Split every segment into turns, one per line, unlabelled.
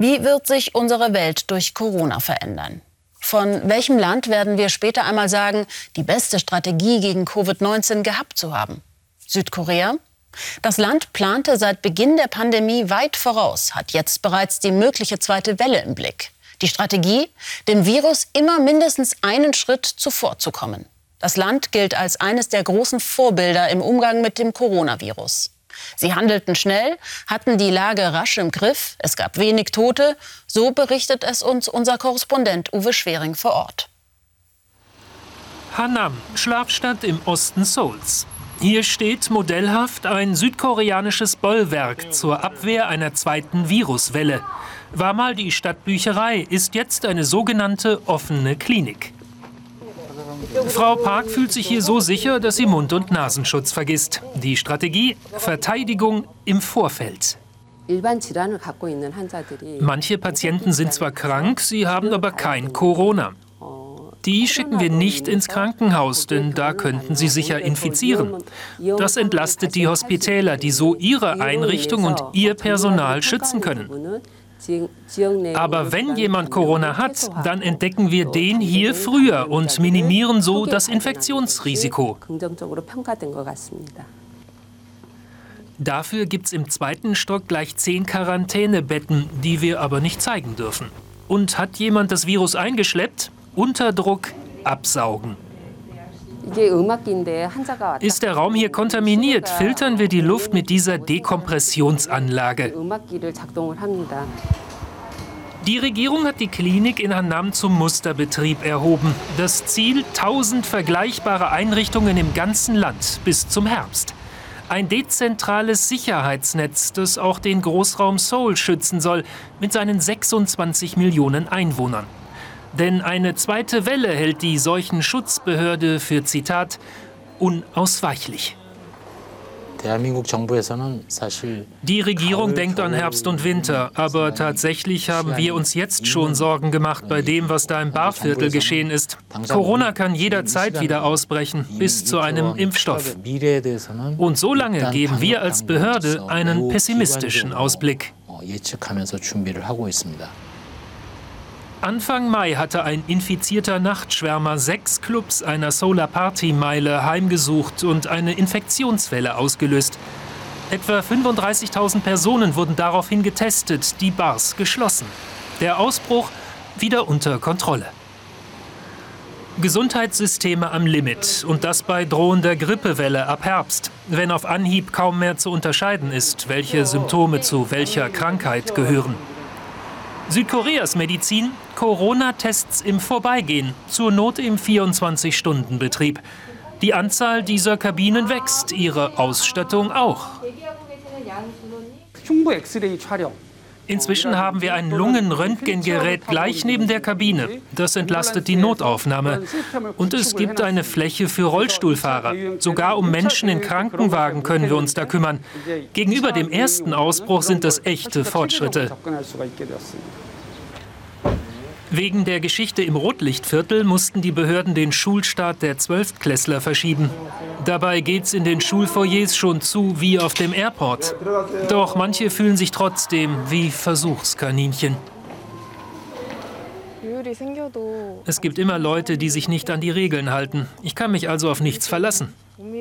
Wie wird sich unsere Welt durch Corona verändern? Von welchem Land werden wir später einmal sagen, die beste Strategie gegen Covid-19 gehabt zu haben? Südkorea? Das Land plante seit Beginn der Pandemie weit voraus, hat jetzt bereits die mögliche zweite Welle im Blick. Die Strategie, dem Virus immer mindestens einen Schritt zuvorzukommen. Das Land gilt als eines der großen Vorbilder im Umgang mit dem Coronavirus. Sie handelten schnell, hatten die Lage rasch im Griff, es gab wenig Tote, so berichtet es uns unser Korrespondent Uwe Schwering vor Ort.
Hanam, Schlafstadt im Osten Seouls. Hier steht modellhaft ein südkoreanisches Bollwerk zur Abwehr einer zweiten Viruswelle. War mal die Stadtbücherei, ist jetzt eine sogenannte offene Klinik. Frau Park fühlt sich hier so sicher, dass sie Mund- und Nasenschutz vergisst. Die Strategie: Verteidigung im Vorfeld. Manche Patienten sind zwar krank, sie haben aber kein Corona. Die schicken wir nicht ins Krankenhaus, denn da könnten sie sich ja infizieren. Das entlastet die Hospitäler, die so ihre Einrichtung und ihr Personal schützen können. Aber wenn jemand Corona hat, dann entdecken wir den hier früher und minimieren so das Infektionsrisiko. Dafür gibt es im zweiten Stock gleich 10 Quarantänebetten, die wir aber nicht zeigen dürfen. Und hat jemand das Virus eingeschleppt? Unterdruck absaugen. Ist der Raum hier kontaminiert, filtern wir die Luft mit dieser Dekompressionsanlage. Die Regierung hat die Klinik in Hanam zum Musterbetrieb erhoben. Das Ziel: 1000 vergleichbare Einrichtungen im ganzen Land bis zum Herbst. Ein dezentrales Sicherheitsnetz, das auch den Großraum Seoul schützen soll, mit seinen 26 Millionen Einwohnern. Denn eine zweite Welle hält die Seuchenschutzbehörde für, Zitat, unausweichlich. Die Regierung denkt an Herbst und Winter, aber tatsächlich haben wir uns jetzt schon Sorgen gemacht bei dem, was da im Barviertel geschehen ist. Corona kann jederzeit wieder ausbrechen, bis zu einem Impfstoff. Und so lange geben wir als Behörde einen pessimistischen Ausblick. Anfang Mai hatte ein infizierter Nachtschwärmer 6 Clubs einer Solar-Party-Meile heimgesucht und eine Infektionswelle ausgelöst. Etwa 35.000 Personen wurden daraufhin getestet, die Bars geschlossen. Der Ausbruch wieder unter Kontrolle. Gesundheitssysteme am Limit, und das bei drohender Grippewelle ab Herbst, wenn auf Anhieb kaum mehr zu unterscheiden ist, welche Symptome zu welcher Krankheit gehören. Südkoreas Medizin: Corona-Tests im Vorbeigehen, zur Not im 24-Stunden-Betrieb. Die Anzahl dieser Kabinen wächst, ihre Ausstattung auch. Inzwischen haben wir ein Lungenröntgengerät gleich neben der Kabine. Das entlastet die Notaufnahme. Und es gibt eine Fläche für Rollstuhlfahrer. Sogar um Menschen in Krankenwagen können wir uns da kümmern. Gegenüber dem ersten Ausbruch sind das echte Fortschritte. Wegen der Geschichte im Rotlichtviertel mussten die Behörden den Schulstart der 12-Klässler verschieben. Dabei geht's in den Schulfoyers schon zu wie auf dem Airport. Doch manche fühlen sich trotzdem wie Versuchskaninchen. Es gibt immer Leute, die sich nicht an die Regeln halten. Ich kann mich also auf nichts verlassen.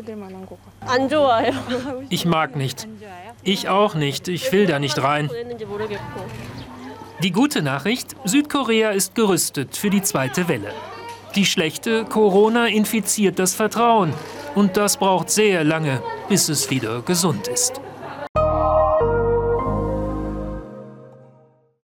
Ich mag nicht. Ich auch nicht. Ich will da nicht rein. Die gute Nachricht: Südkorea ist gerüstet für die zweite Welle. Die schlechte: Corona infiziert das Vertrauen. Und das braucht sehr lange, bis es wieder gesund ist.